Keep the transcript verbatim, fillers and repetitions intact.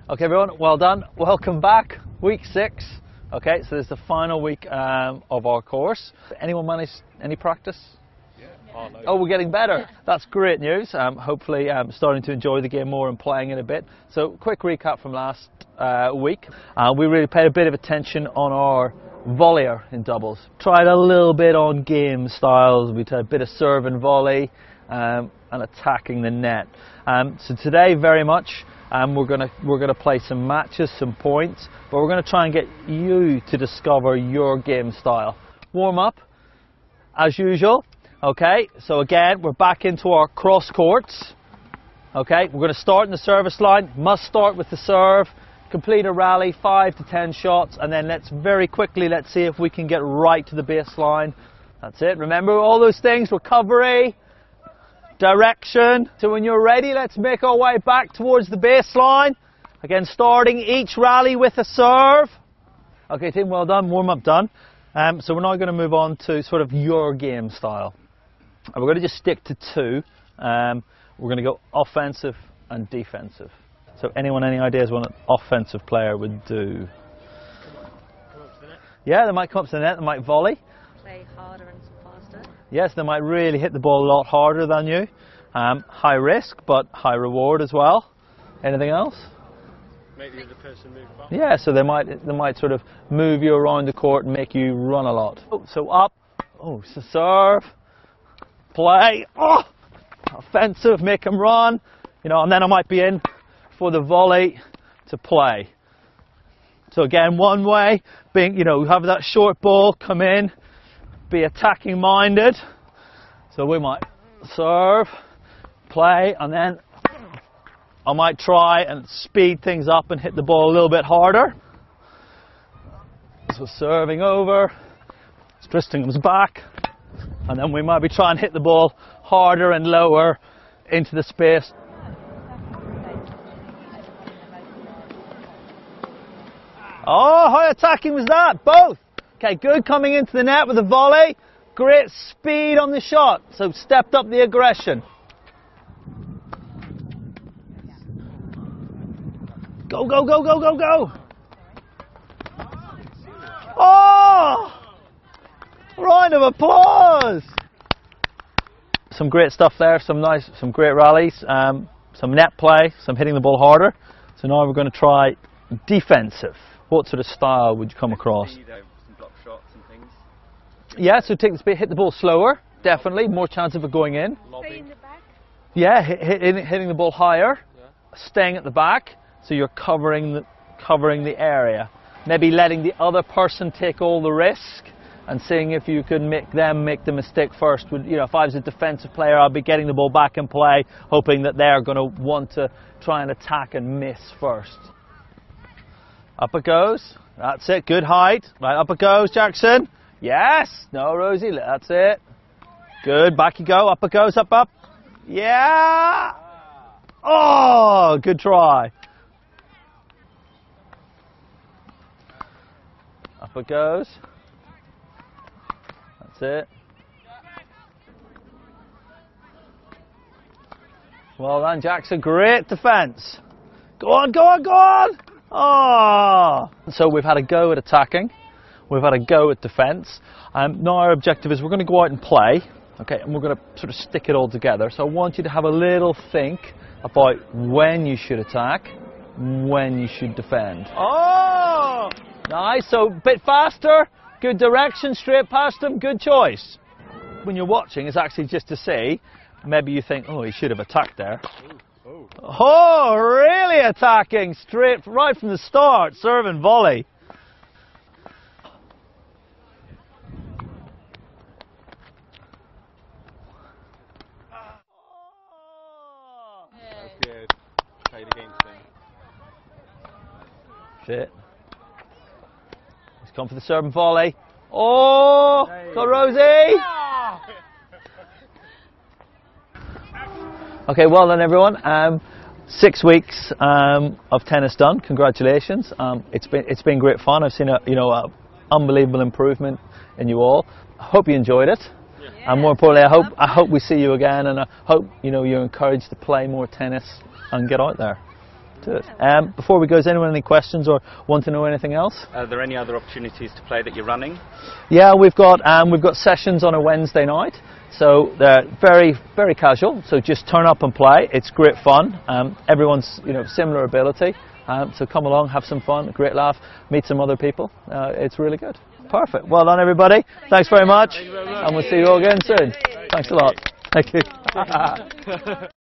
Okay everyone, well done. Welcome back. Week six. Okay, so this is the final week um, of our course. Anyone manage any practice? Yeah. Oh, no. Oh, we're getting better. That's great news. Um, hopefully um, starting to enjoy the game more and playing it a bit. So quick recap from last uh, week. Uh, we really paid a bit of attention on our volleyer in doubles. Tried a little bit on game styles. We tried a bit of serve and volley um, and attacking the net. Um, so today very much Um, we're gonna we're gonna play some matches, some points, but we're gonna try and get you to discover your game style. Warm up, as usual. Okay, so again we're back into our cross courts. Okay, we're gonna start in the service line. Must start with the serve. Complete a rally, five to ten shots, and then let's very quickly let's see if we can get right to the baseline. That's it. Remember all those things: recovery, direction. So when you're ready, let's make our way back towards the baseline. Again, starting each rally with a serve. Okay team, well done, warm up done. Um, so we're now going to move on to sort of your game style. And we're going to just stick to two. Um, we're going to go offensive and defensive. So anyone, any ideas what an offensive player would do? Come up to the net. Yeah, they might come up to the net, they might volley. Play harder and faster. Yes, they might really hit the ball a lot harder than you. Um, high risk, but high reward as well. Anything else? Make the other person move fast. Yeah, so they might they might sort of move you around the court and make you run a lot. Oh, so up, oh, so serve, play, oh, offensive, make them run, you know, and then I might be in for the volley to play. So again, one way, being, you know, have that short ball come in, be attacking minded. So we might serve, play, and then I might try and speed things up and hit the ball a little bit harder. So serving over, twisting them back, and then we might be trying to hit the ball harder and lower into the space. Oh, how attacking was that? Both. Okay, good coming into the net with a volley. Great speed on the shot, so stepped up the aggression. Go, go, go, go, go, go! Oh! Round of applause! Some great stuff there, some nice, some great rallies, um, some net play, some hitting the ball harder. So now we're going to try defensive. What sort of style would you come across? Some block shots and things. Yeah, so take the speed, hit the ball slower, definitely, more chance of it going in. Stay in the back. Yeah, hit, hit, hitting the ball higher, Yeah. staying at the back, so you're covering the, covering the area. Maybe letting the other person take all the risk and seeing if you can make them make the mistake first. Would, you know, if I was a defensive player, I'd be getting the ball back in play, hoping that they're going to want to try and attack and miss first. Up it goes. That's it. Good height. Right, up it goes, Jackson. Yes. No, Rosie. That's it. Good. Back you go. Up it goes. Up, up. Yeah. Oh, good try. Up it goes. That's it. Well done, Jackson. Great defense. Go on, go on, go on. Oh! So we've had a go at attacking, we've had a go at defence. Um, now our objective is we're going to go out and play, okay, and we're going to sort of stick it all together. So I want you to have a little think about when you should attack, when you should defend. Oh! Nice, so a bit faster, good direction, straight past him, good choice. When you're watching, it's actually just to see, maybe you think, oh, he should have attacked there. Oh. Oh, really attacking straight right from the start, serve and volley. That's good. Played against him. Shit. He's come for the serve and volley. Oh, got Rosie. Okay, well done everyone. Um, six weeks um, of tennis done. Congratulations. Um, it's been it's been great fun. I've seen a you know a unbelievable improvement in you all. I hope you enjoyed it. Yeah. And more importantly, I hope I hope we see you again, and I hope you know you're encouraged to play more tennis and get out there. do it. Um, before we go, has anyone any questions or want to know anything else? Are there any other opportunities to play that you're running? Yeah, we've got um, we've got sessions on a Wednesday night, so they're very very casual. So just turn up and play. It's great fun. Um, everyone's you know similar ability, um, so come along, have some fun, a great laugh, meet some other people. Uh, it's really good. Perfect. Well done, everybody. Thanks very much, and we'll see you all again soon. Thanks a lot. Thank you.